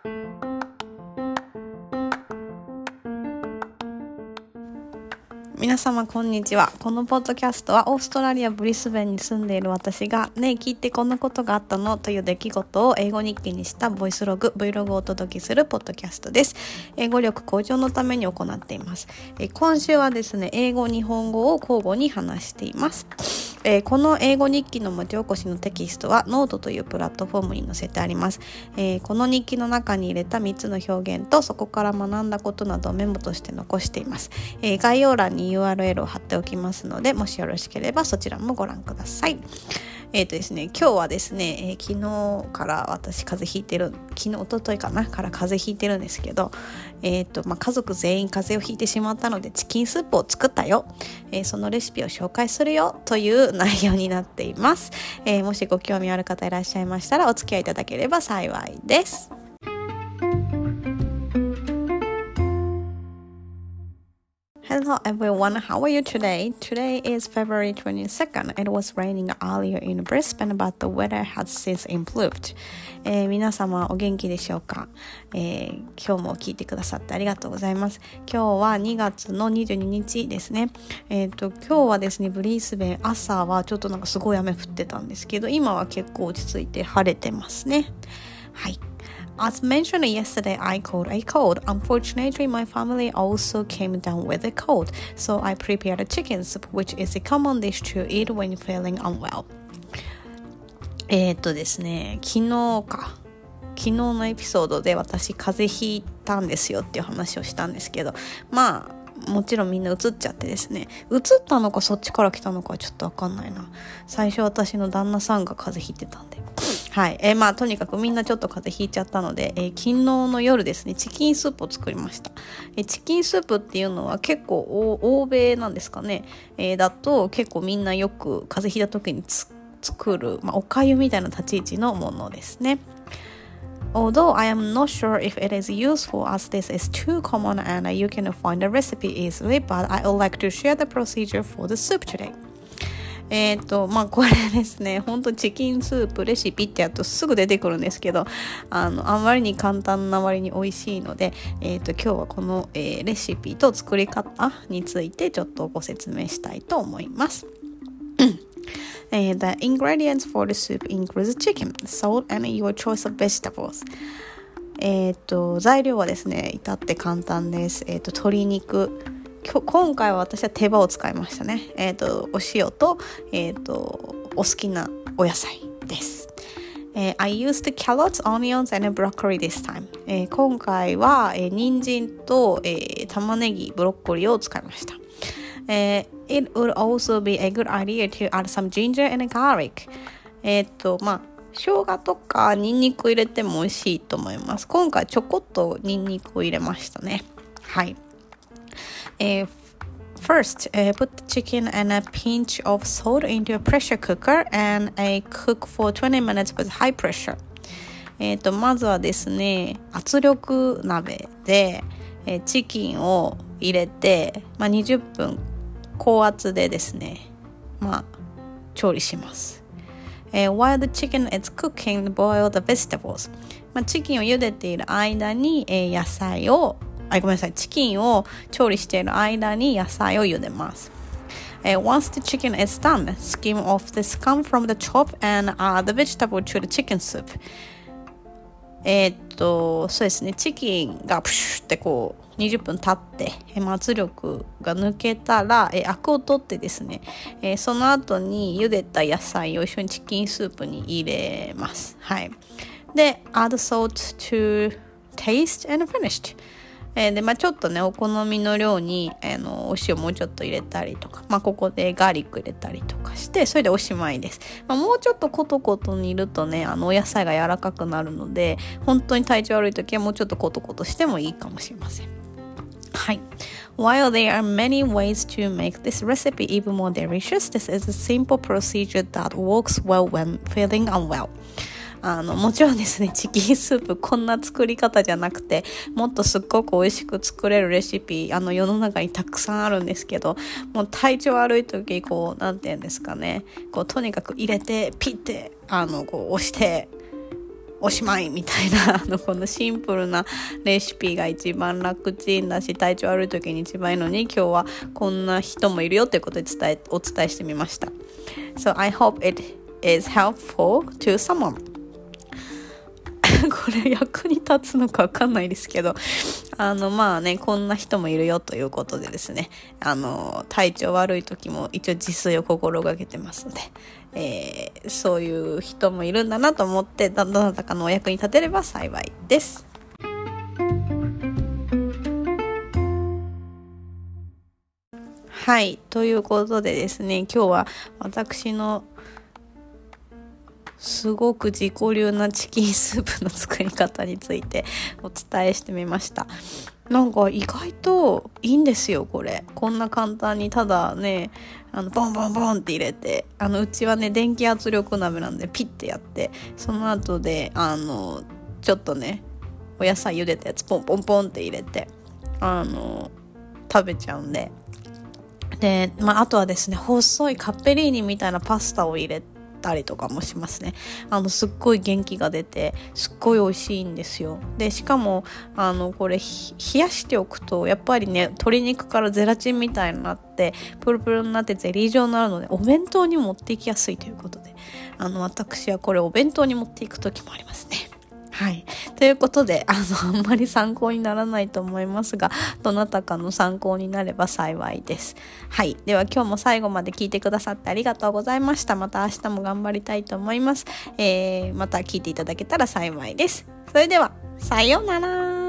皆様こんにちは。このポッドキャストはオーストラリアブリスベンに住んでいる私がねえ聞いてこんなことがあったのという出来事を英語日記にしたボイスログ Vlog をお届けするポッドキャストです。英語力向上のために行っています。今週はですね、英語日本語を交互に話しています。この英語日記の文字起こしのテキストはノートというプラットフォームに載せてあります。この日記の中に入れた3つの表現とそこから学んだことなどをメモとして残しています。概要欄に URL を貼っておきますので、もしよろしければそちらもご覧ください。ですね、今日はですね、昨日から私風邪ひいてる、一昨日かなから風邪ひいてるんですけど、家族全員風邪をひいてしまったのでチキンスープを作ったよ、そのレシピを紹介するよという内容になっています。もしご興味ある方いらっしゃいましたらお付き合いいただければ幸いです。Hello everyone, how are you today? Today is February 22nd. It was raining earlier in Brisbane, but the weather has since improved. 皆様お元気でしょうか？今日も聞いてくださってありがとうございます。今日は2月の22日ですね。今日はですね、ブリスベン朝はちょっとなんかすごい雨降ってたんですけど、今は結構落ち着いて晴れてますね。はい。As mentioned yesterday, I caught a cold. Unfortunately, my family also came down with a cold, so I prepared a chicken soup, which is a common dish to eat when feeling unwell. ですね、昨日のエピソードで私風邪ひいたんですよっていう話をしたんですけど、もちろんみんな移っちゃってですね、移ったのかそっちから来たのかはちょっとわかんないな。最初私の旦那さんが風邪ひいてたんで、はい、とにかくみんなちょっと風邪ひいちゃったので、昨日の夜ですね、チキンスープを作りました。チキンスープっていうのは結構欧米なんですかね、だと結構みんなよく風邪ひいた時に作る、おかゆみたいな立ち位置のものですね。Although I am not sure if it is useful as this is too common and you can find the recipe easily, but I would like to share the procedure for the soup today.これですね、本当チキンスープレシピってやるとすぐ出てくるんですけど、あまりに簡単な割に美味しいので、今日はこの、レシピと作り方についてちょっとご説明したいと思います。The ingredients for the soup include chicken, salt, and your choice of vegetables. 材料はですね、至って簡単です。鶏肉。今回は私は手羽を使いましたね。お塩と、お好きなお野菜です。I used carrots, onions, and broccoli this time. 今回は、人参と、玉ねぎ、ブロッコリーを使いました。It would also be a good idea to add some ginger and garlic. 生姜とかニンニク入れても美味しいと思います。今回ちょこっとニンニクを入れましたね。はい。First, put the chicken and a pinch of salt into a pressure cooker and cook for 20 minutes with high pressure. まずはですね、圧力鍋で、チキンを入れて、20分高圧でですね、調理します。While the chicken is cooking, boil the vegetables. チキンを茹でている間に、チキンを調理している間に野菜を茹でます。Once the chicken is done, skim off the scum from the chop and add the vegetable to the chicken soup. そうですね、チキンがプシュってこう20分経って、圧力が抜けたら、アクを取ってですね、その後に茹でた野菜を一緒にチキンスープに入れます。はい。で、add salt to taste and finished.でちょっとねお好みの量にお塩もうちょっと入れたりとか、ここでガーリック入れたりとかしてそれでおしまいです。もうちょっとコトコト煮るとねお野菜が柔らかくなるので本当に体調悪い時はもうちょっとコトコトしてもいいかもしれません。はい。While there are many ways to make this recipe even more delicious, this is a simple procedure that works well when feeling unwell.もちろんですね、チキンスープこんな作り方じゃなくて、もっとすっごく美味しく作れるレシピ、世の中にたくさんあるんですけど、もう体調悪い時、なんて言うんですかね、とにかく入れて、ピッて、押して、 おしまいみたいなこのシンプルなレシピが一番楽ちんだし、体調悪い時に一番いいのに、今日はこんな人もいるよということでお伝えしてみました。 So I hope it is helpful to someone これ役に立つのか分かんないですけど、まあね、こんな人もいるよということでですね、体調悪い時も一応自炊を心がけてますので、そういう人もいるんだなと思って、どなたかのお役に立てれば幸いです。はい、ということでですね、今日は私のすごく自己流なチキンスープの作り方についてお伝えしてみました。なんか意外といいんですよ、これ。こんな簡単に、ただね、ボンボンボンって入れて、うちはね、電気圧力鍋なんでピッてやって、その後でちょっとね、お野菜茹でたやつポンポンポンって入れて食べちゃうんで。で、あとはですね、細いカッペリーニみたいなパスタを入れたりとかもしますね。すっごい元気が出て、すっごい美味しいんですよ。で、しかもこれ冷やしておくと、やっぱりね、鶏肉からゼラチンみたいになってプルプルになってゼリー状になるので、お弁当に持っていきやすいということで、私はこれお弁当に持っていく時もありますね。はい。ということで、あんまり参考にならないと思いますが、どなたかの参考になれば幸いです。はい。では今日も最後まで聞いてくださってありがとうございました。また明日も頑張りたいと思います。また聞いていただけたら幸いです。それでは、さようなら。